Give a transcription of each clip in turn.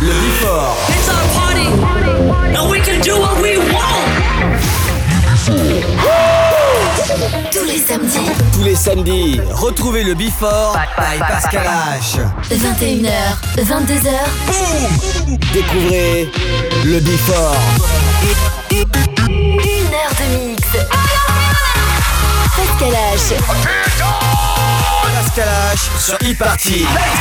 Le Before. It's our party, and we can do what we want. Tous les samedis, retrouvez le Before by Pascal H. 21h, 22h. Boum! Découvrez le Before. 1 heure de mix. Pascal H. Pascal H sur e-party.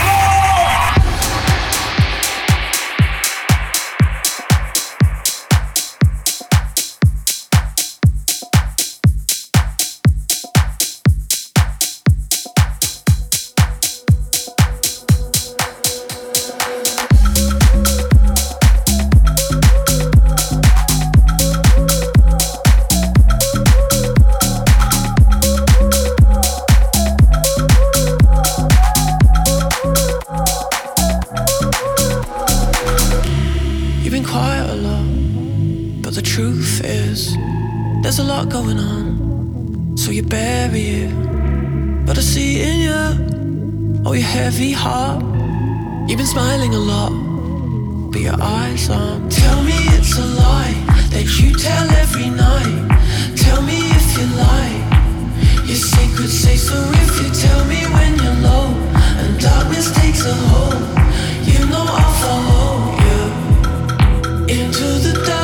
There's a lot going on, so you bury it. But I see in you, oh, your heavy heart. You've been smiling a lot, but your eyes aren't. Tell me it's a lie that you tell every night. Tell me if you lie. Your secrets say so if you tell me when you're low and darkness takes a hold. You know I'll follow you into the dark.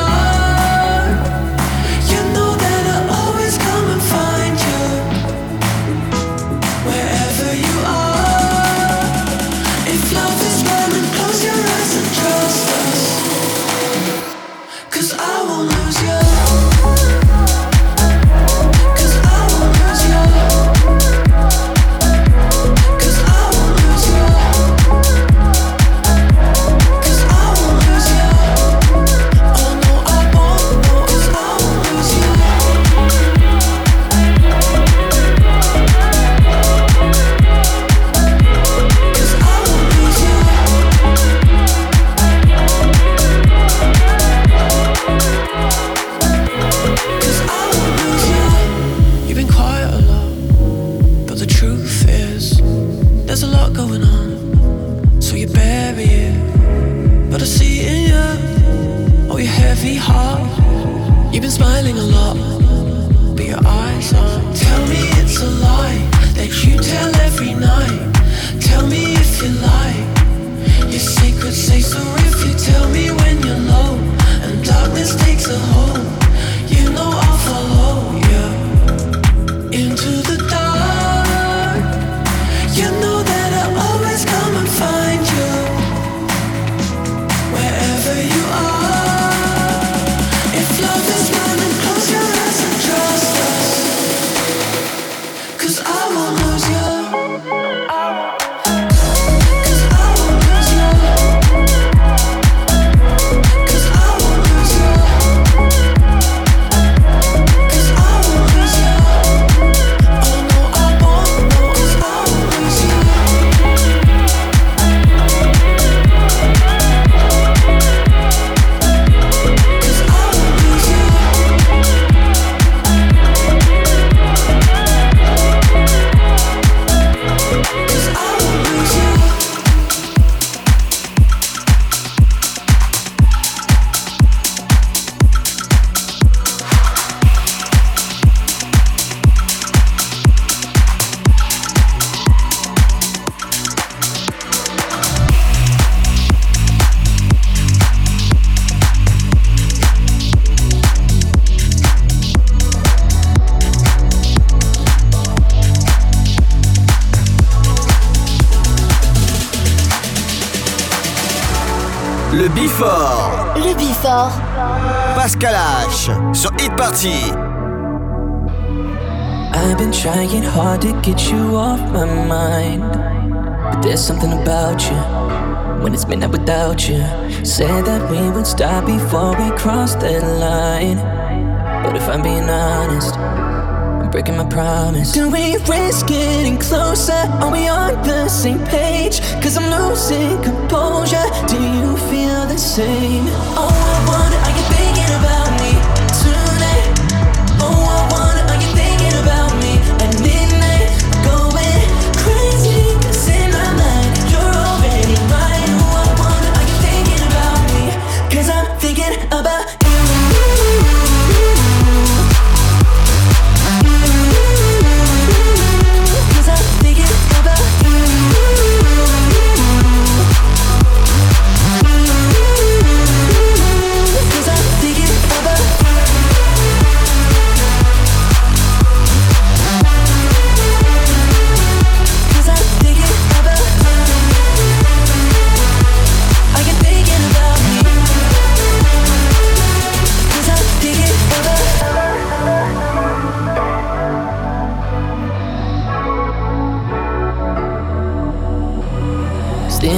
Le Before. Le Before. Pascal H sur Hit Party. I've been trying hard to get you off my mind, but there's something about you when it's midnight without you. Said that we would stop before we crossed that line, but if I'm being honest, I'm breaking my promise. Do we risk getting closer? Are we on the same page? 'Cause I'm losing composure. Do you feel the same? Oh, I wonder, are you thinking about me tonight? Oh, I wonder, are you thinking about me at midnight? Going crazy, 'cause in my mind you're already mine. Oh, I wonder, are you thinking about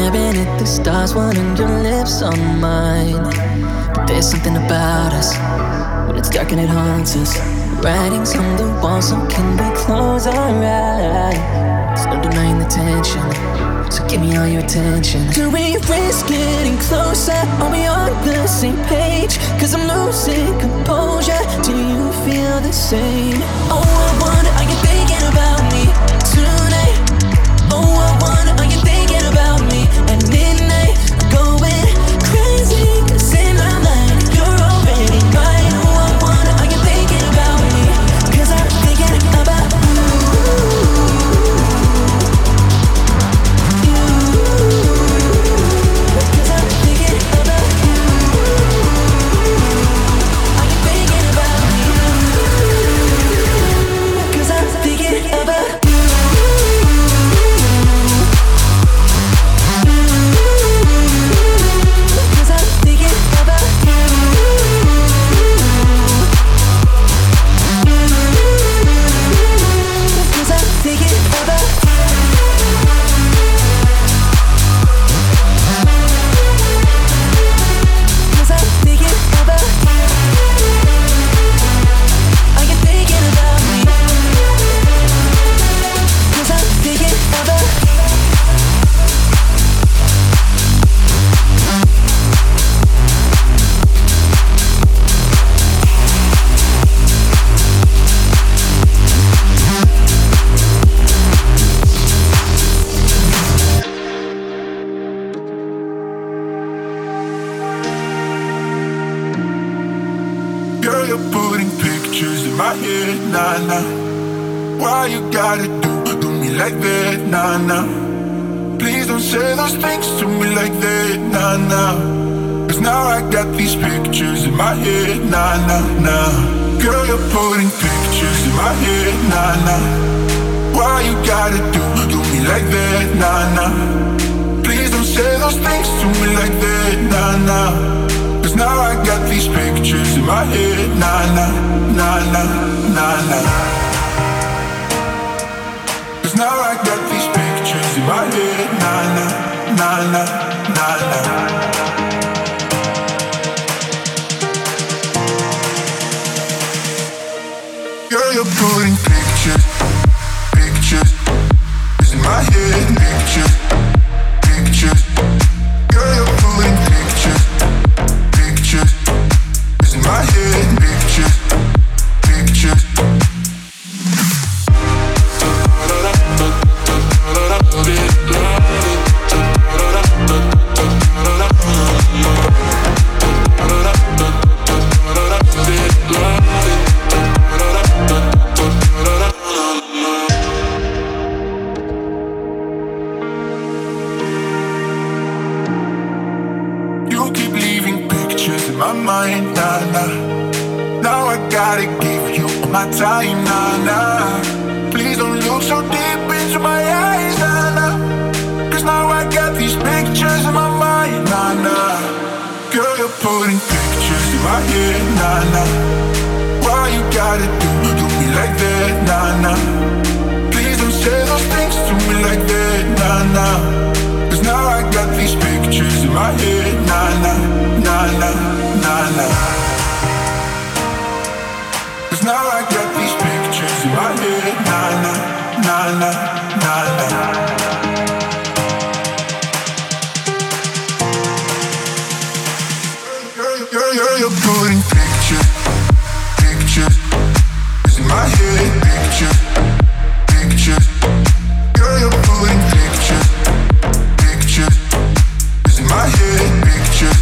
staring at the stars, wanting your lips on mine. But there's something about us, when it's dark and it haunts us. Writings on the wall, so can we close our eyes? There's no denying the tension, so give me all your attention. Do we risk getting closer? Are we on the same page? Cause I'm losing composure. Do you feel the same? Oh, I wonder, are you thinking about me tonight? Oh, I wonder, are you thinking about me at midnight? I'm going crazy, cause in my mind you're already mine. Oh, I wonder, are you thinking about me? Cause I'm thinking about you. Cause I'm thinking about you. Are you thinking about me? Cause I'm thinking about you. Why you gotta do me like that, nah, nah. Please don't say those things to me like that, nah, nah. Cause now I got these pictures in my head, nah, nah, nah. Girl, you're putting pictures in my head, nah, nah. Why you gotta do me like that, nah, nah. Please don't say those things to me like that, nah, nah. Cause now I got these pictures in my head, nah, nah, nah, nah, nah, nah. Cause now I got these pictures in my head, nah, nah, nah, nah, nah, nah. Girl, you're putting pictures in my head, pictures. Girl, you're putting pictures in my head, pictures. Time, nah, nah. Please don't look so deep into my eyes, nah, nah. Cause now I got these pictures in my mind, nah, nah. Girl, you're putting pictures in my head, nah, nah. Why you gotta do me like that, nah, nah. Please don't say those things to me like that, nah, nah. Cause now I got these pictures in my head, nah, nah, nah, nah, nah, nah. Cause now I got these pictures in my head, nah, nah, nah, nah, nah, nah. Girl, you're putting pictures in my head, pictures. Girl, you're putting pictures in my head, pictures.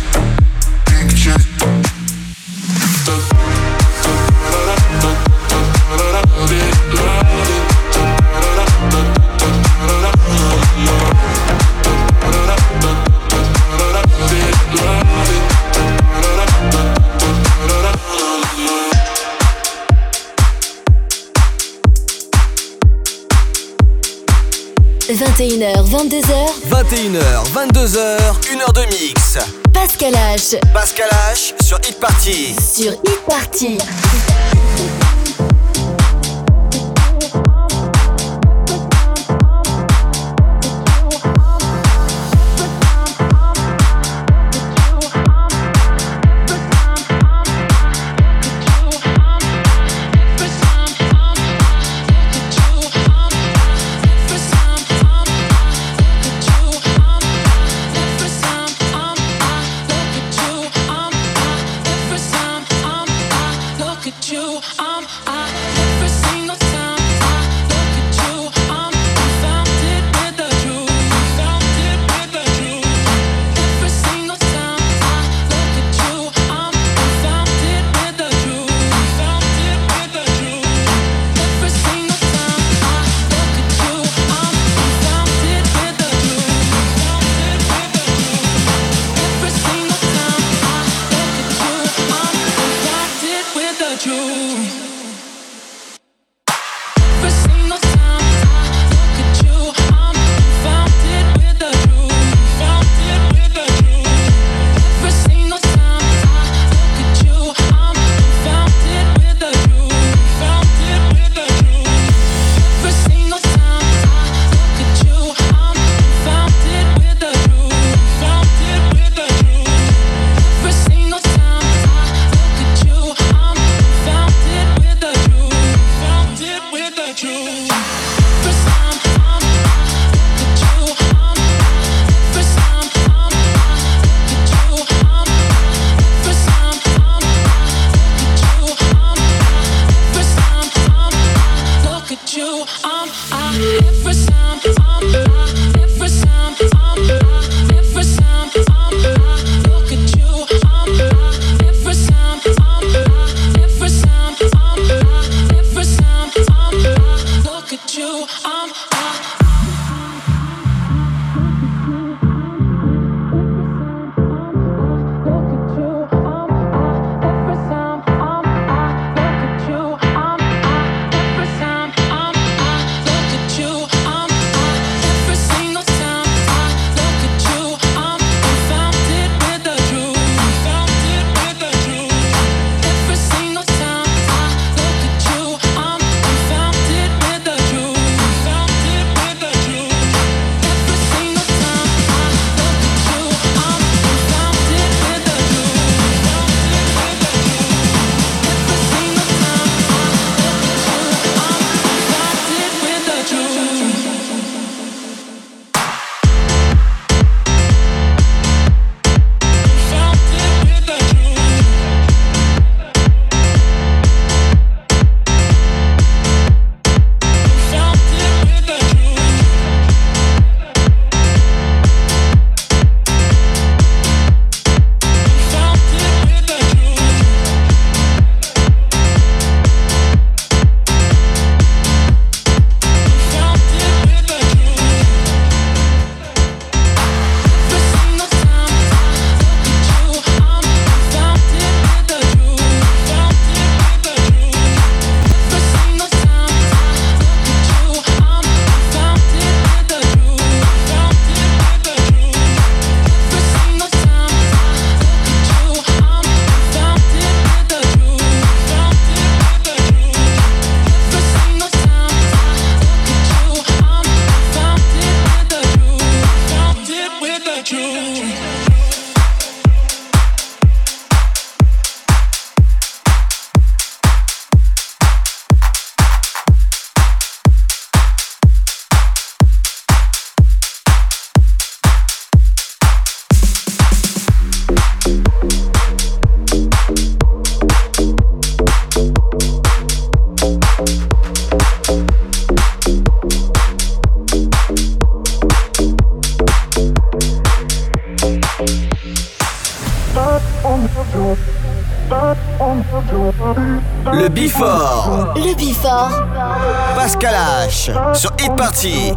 « 21h, 22h. 21h, 22h, 1h de mix. Pascal H. Pascal H sur Hit Party. Sur Hit Party. without you. Le Before. Le Before. Pascal H. Sur Hit Party.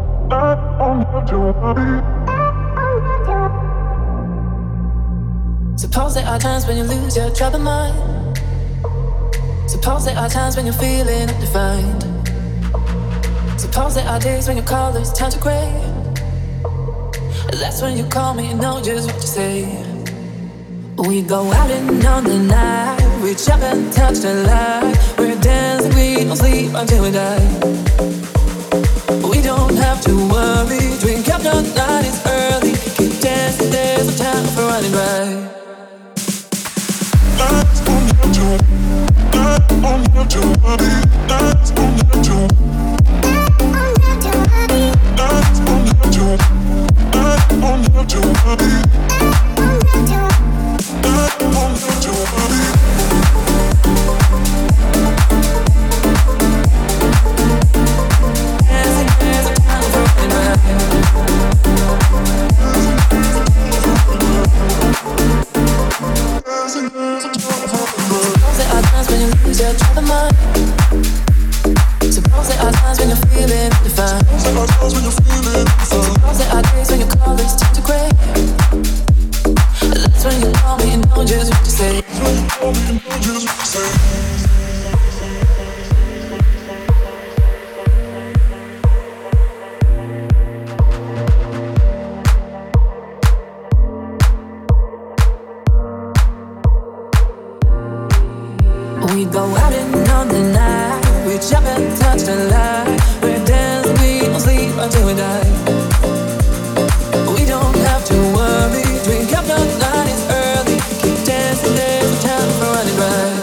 Suppose there are times when you lose your troubled mind. Suppose there are times when you're feeling undefined. Suppose there are days when your colors turn to gray. That's when you call me and know just what to say. We go out and on the night, reach up and touch the light. We're dancing, we don't sleep until we die. We don't have to worry, drink up the night, it's early. Keep dancing, there's no time for running right. We go out and on the night, we jump and touch the light. We're dancing, we don't sleep until we die. We don't have to worry, drink up the night, it's early. Keep dancing, there's no time for running right.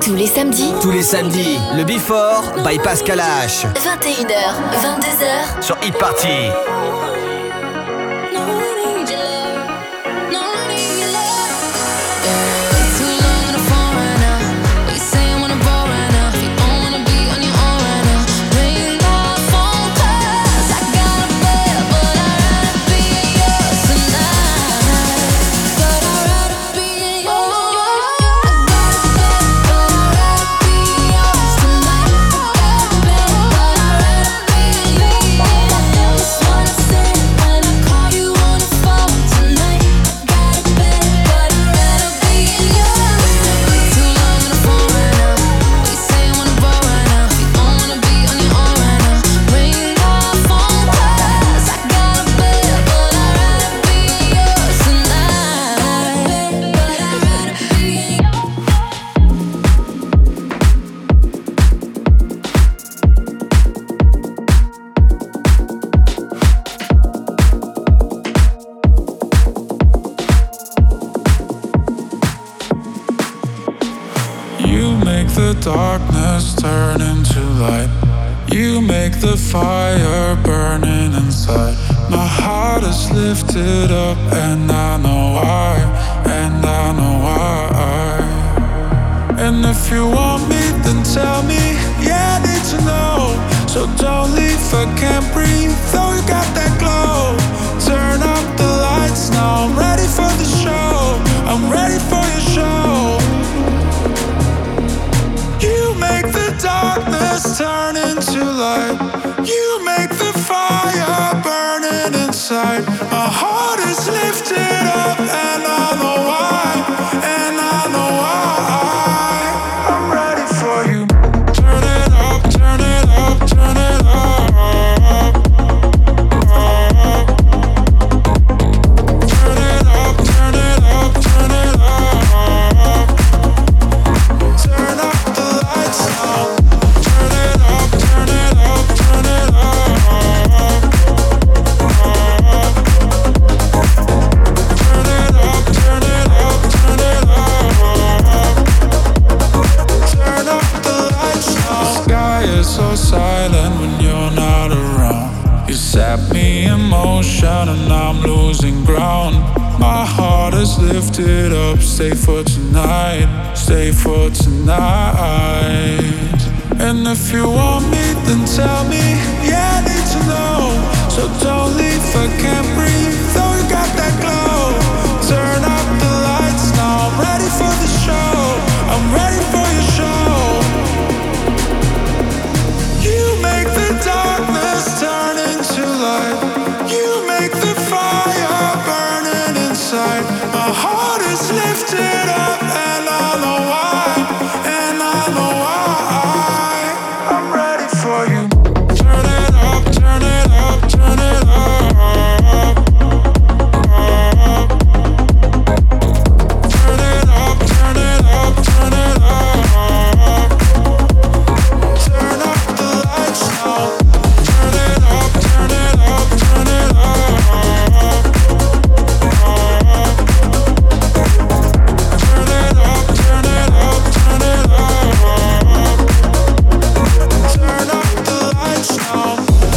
Tous les samedis, le Before by Pascal H. 21h, 22h, sur Hit Party. Darkness turn into light. You make the fire burning inside. My heart is lifted up and I know why. And I know why. And if you want me, then tell me. Yeah, I need to know. So don't leave, I can't breathe. Though you got that glow. Turn up the lights now. I'm ready for the show. I'm ready for your show. You make the darkness turn into light. You make the fire burning inside. My heart is lifted up and I know why. And I know why. I'm ready for you. Turn it up, turn it up, turn it up. Turn it up, turn it up, turn it up. Turn up the lights now. Turn it up, turn it up, turn it up. Turn it up, turn it up, turn it up. Turn up the lights now. The sky is so silent when you're not around. You set me in motion and I'm losing ground. My heart is lifted up, stay for tonight, stay for tonight. And if you want me, then tell me, yeah, I need to know. So don't leave, I can't breathe, though you got that glow. Turn up the lights now, I'm ready for the show. I'm ready for your show. You make the darkness turn into light. You make the fire burning inside. My heart is lifted up and I know why. And I know why. I'm ready for you. Turn it up, turn it up, turn it up. Turn it up, turn it up, turn it up. Turn up the lights now. Turn it up, turn it up, turn it up. Turn it up, turn it up, turn it up. Turn up the lights now.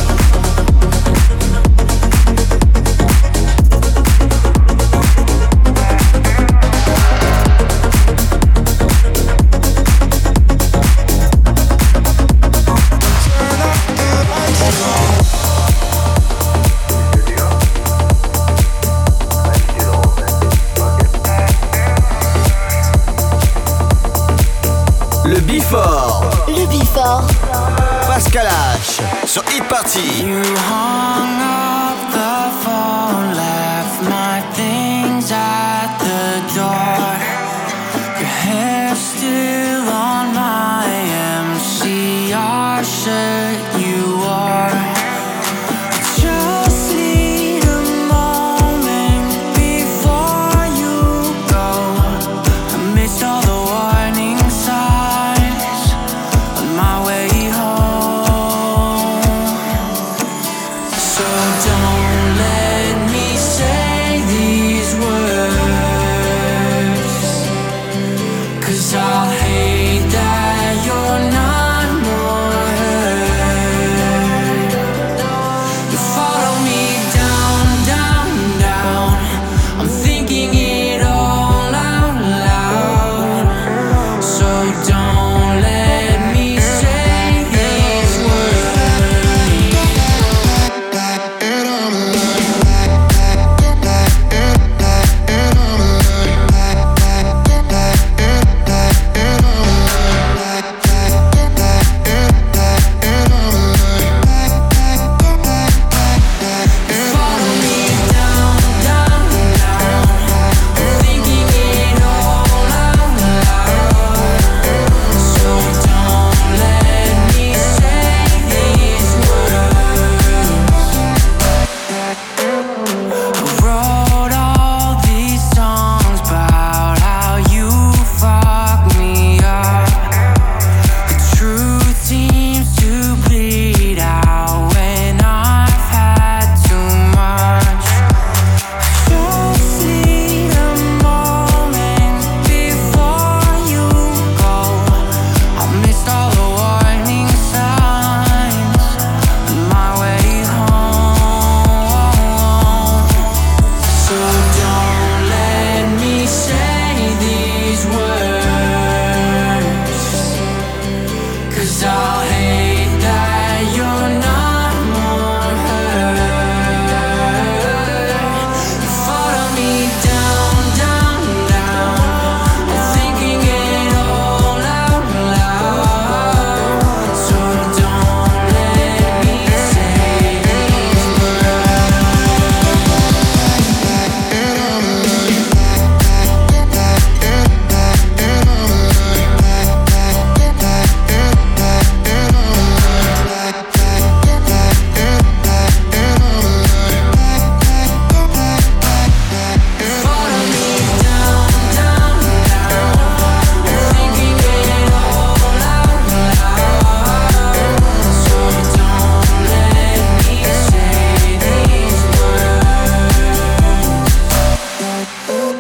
Le Before, le Before. Pascal H. sur Hit Party. You hung up the phone, left my things at the door. Your hair still on my MCR shirt you wore. Just need a moment before you go. I missed all the warning signs on my way home. So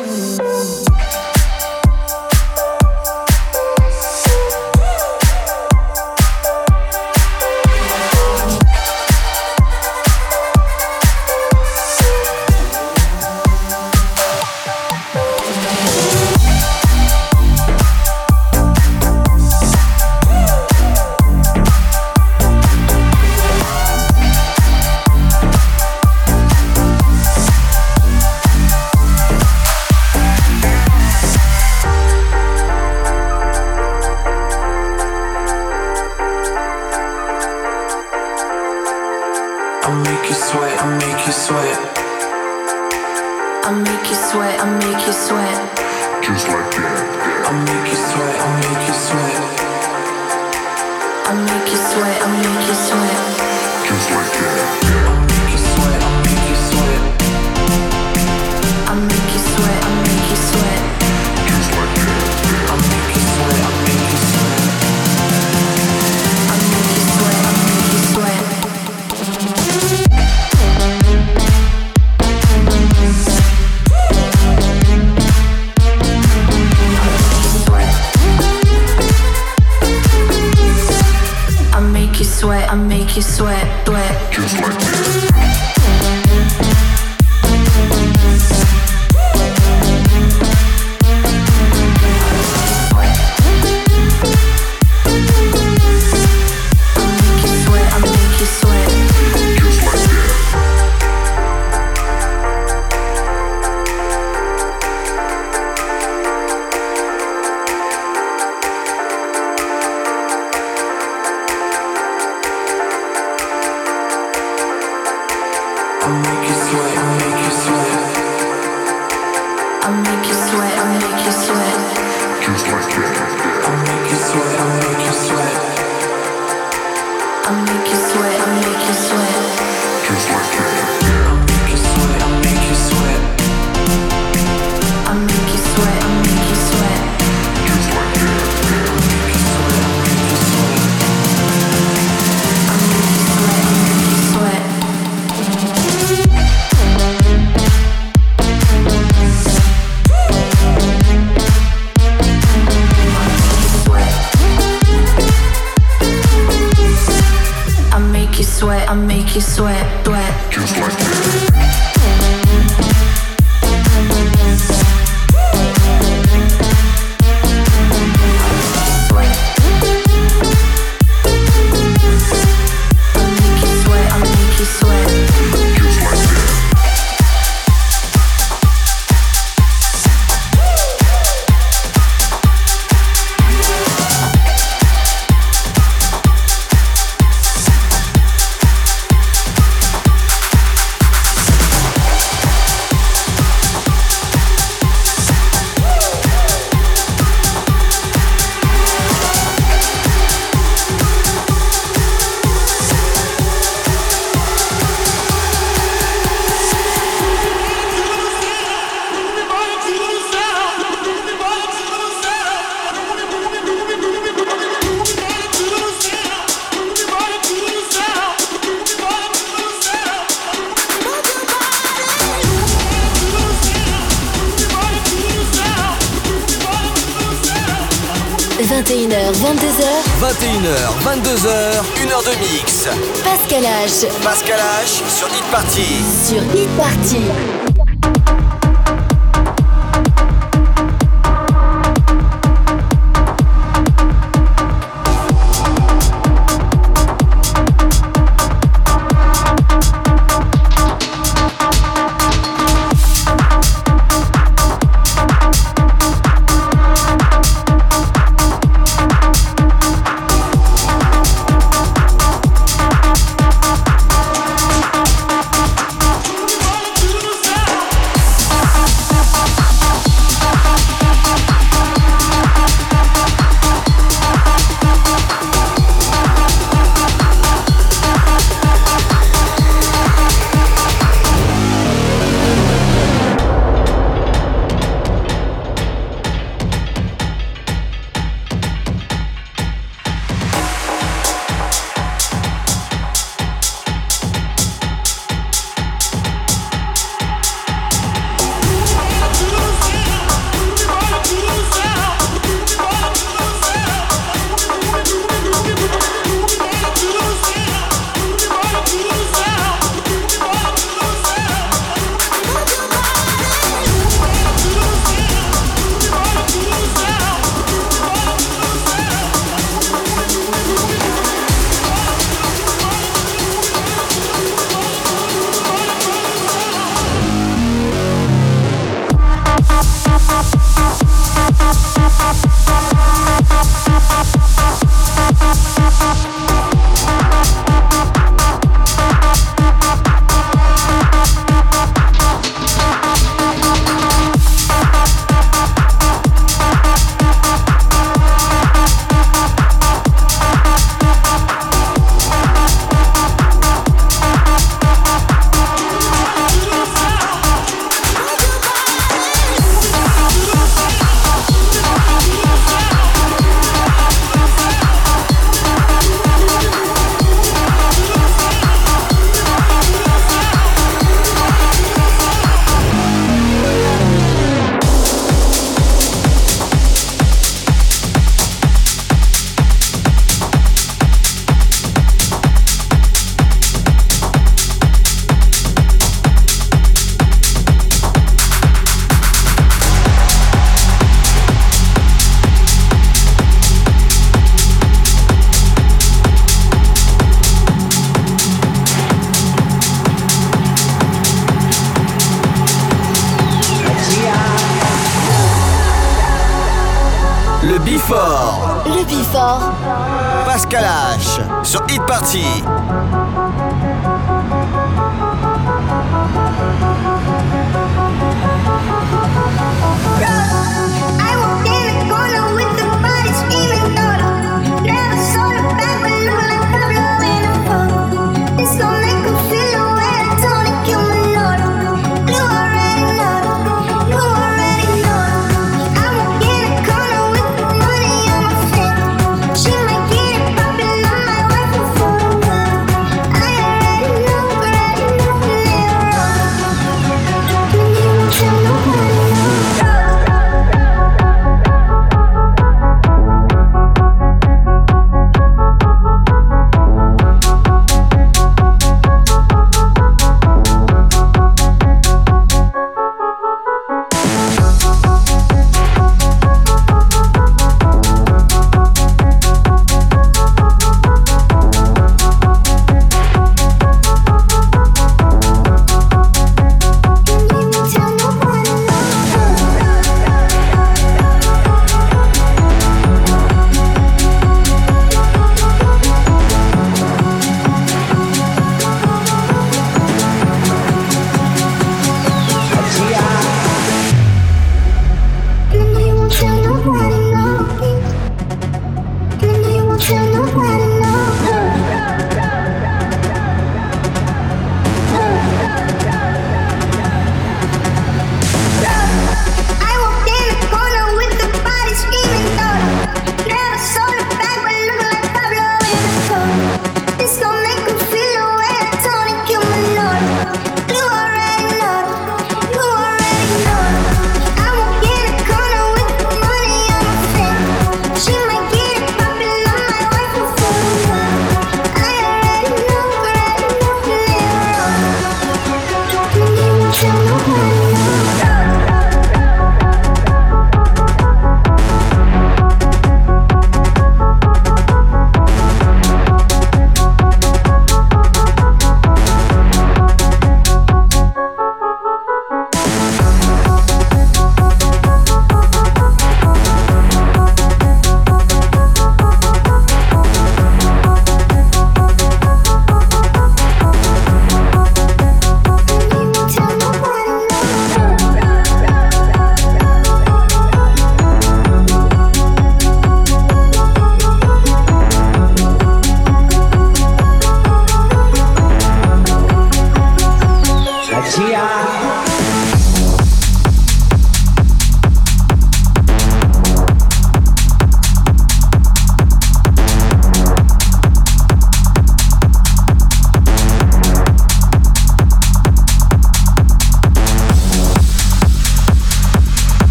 21h, 22h. 21h, 22h, 1h de mix. Pascal H. Pascal H sur Hit Party. Sur Hit Party. Before. Le Before. Pascal H sur Hit Party. She might get it poppin' on my wife before.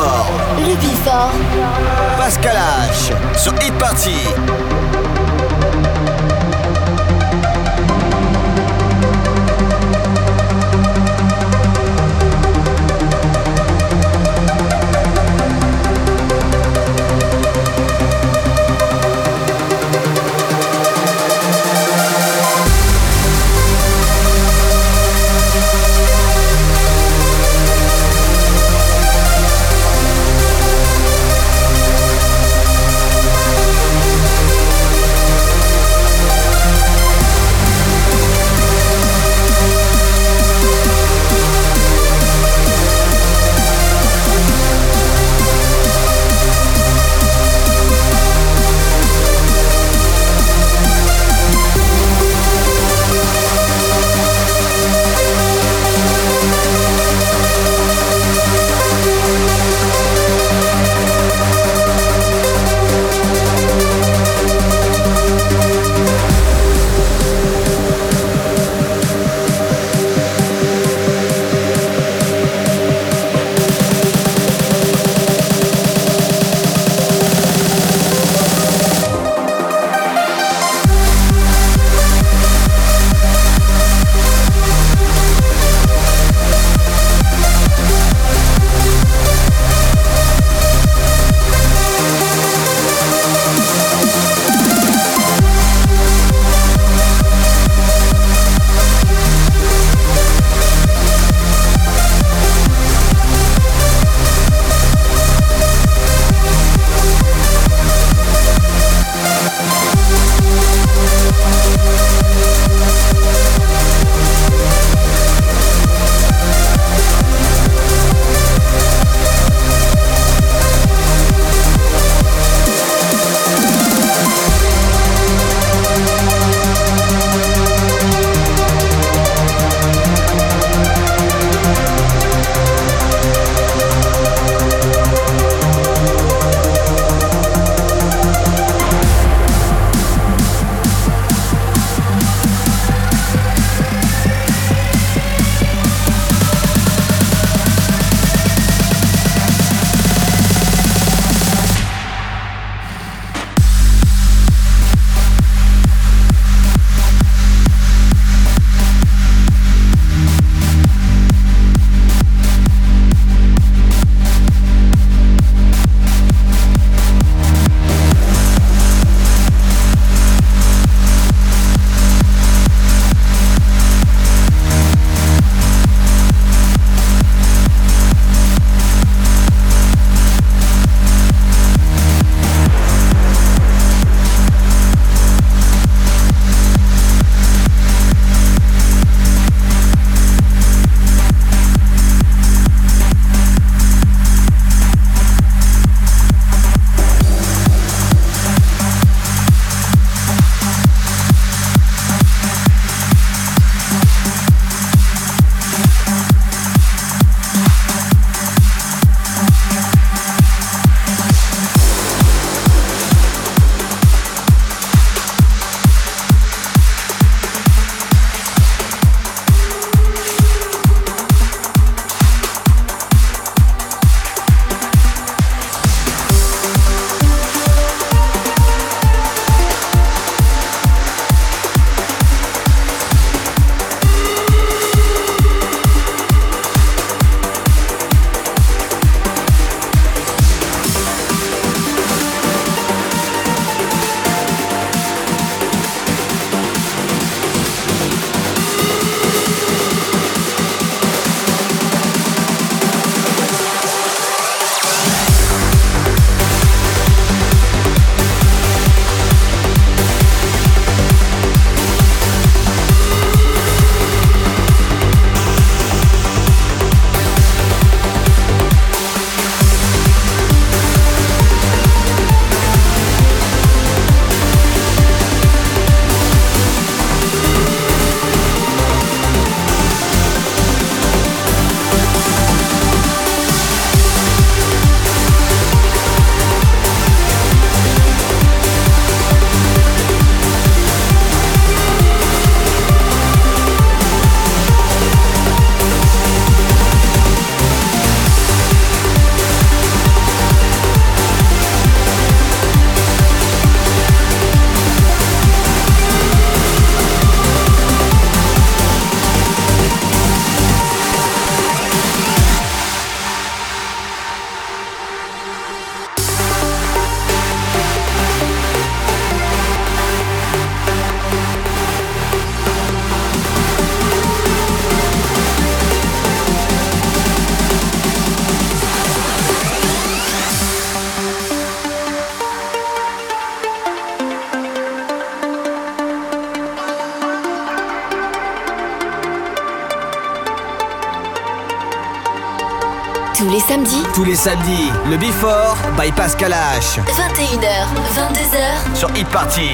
Before. Le Before. Pascal H sur Hit Party. Tous les samedis, le Before by Pascal H. 21h, 22h. Sur Hit Party.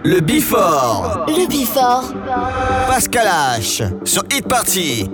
Le Before. Le Before. Pascal H sur Hit Party.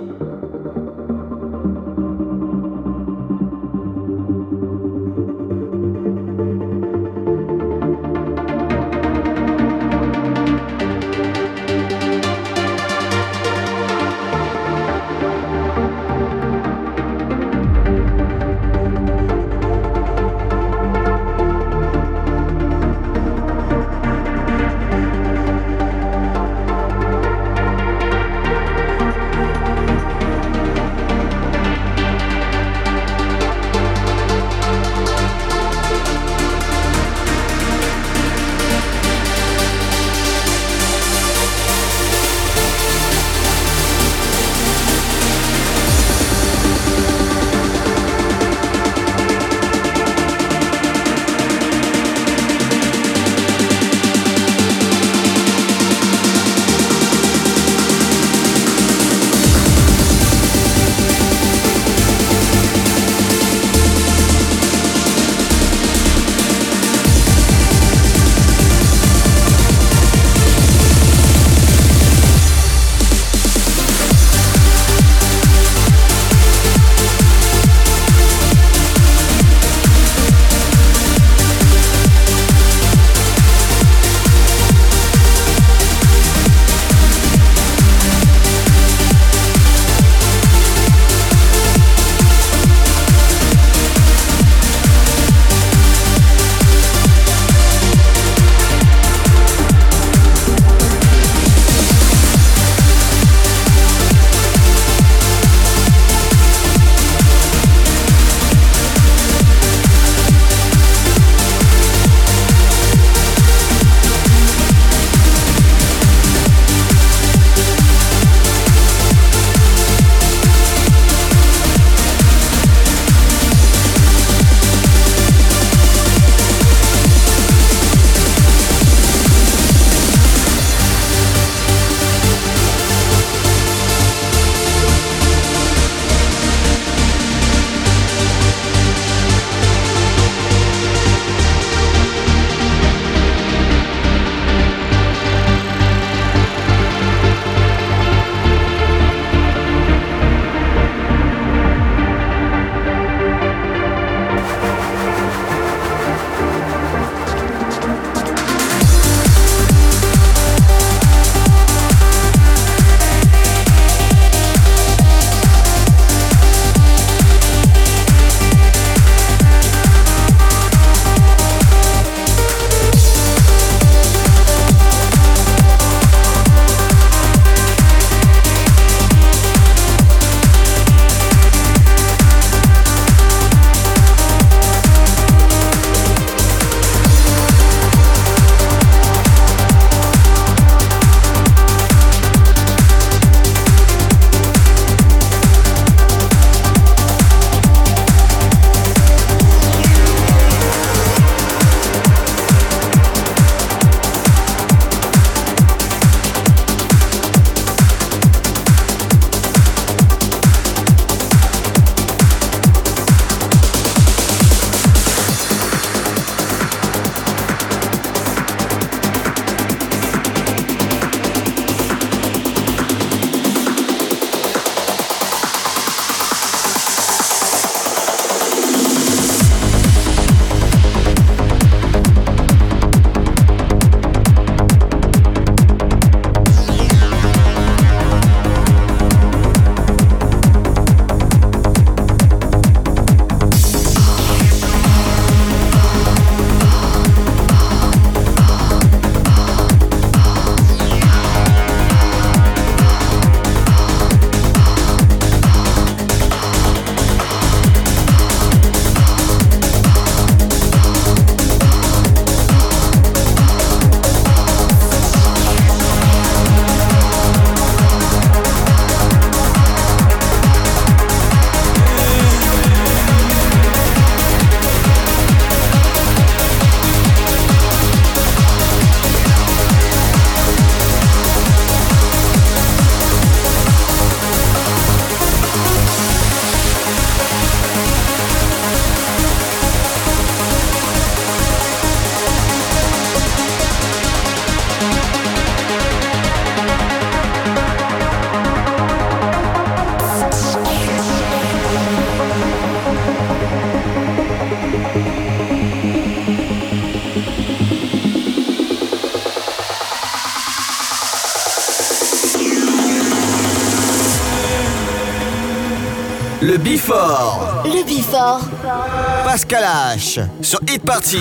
Le Before. Le Before. Pascal H sur Hit Party.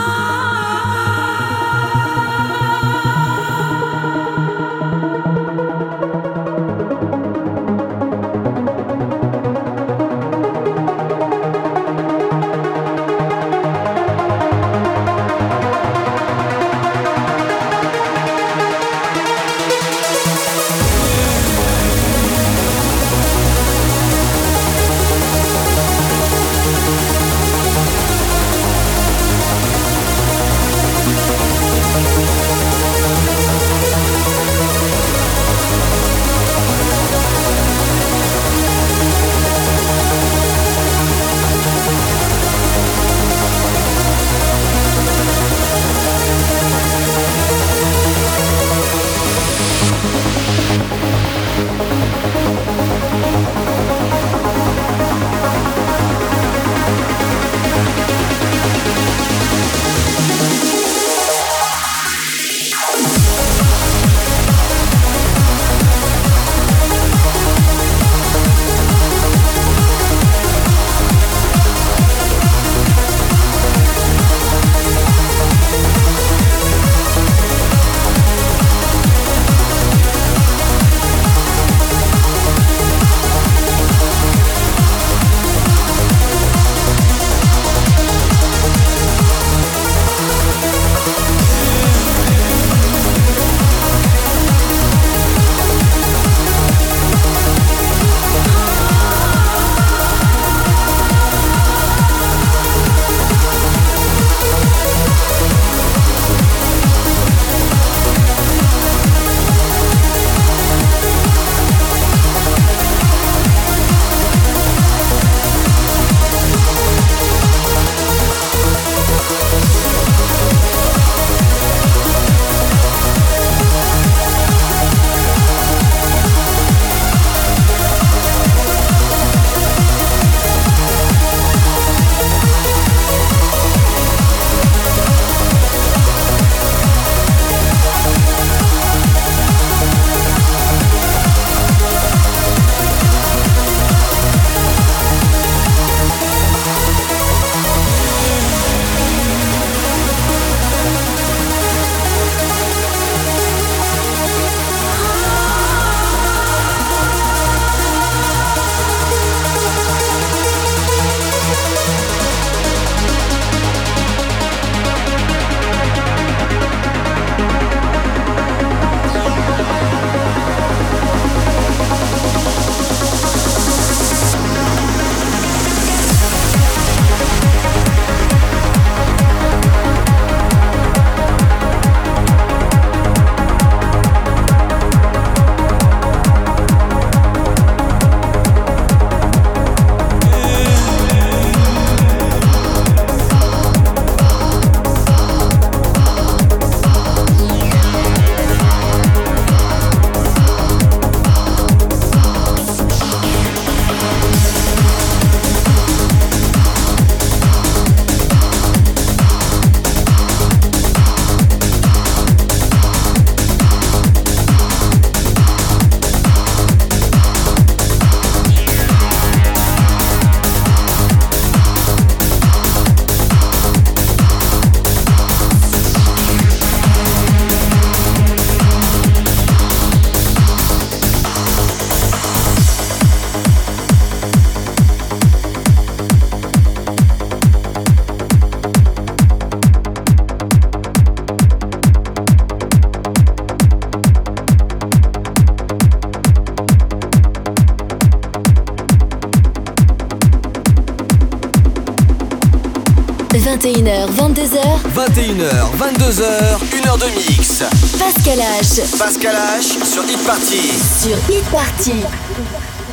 – 21h, 22h. 21h, 22h, 1h de mix. Pascal H. Pascal H sur Hit Party. Sur Hit Party.